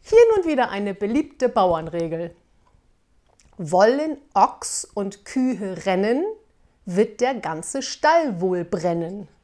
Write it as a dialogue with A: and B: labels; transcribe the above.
A: Hier nun wieder eine beliebte Bauernregel. Wollen Ochs und Kühe rennen, wird der ganze Stall wohl brennen.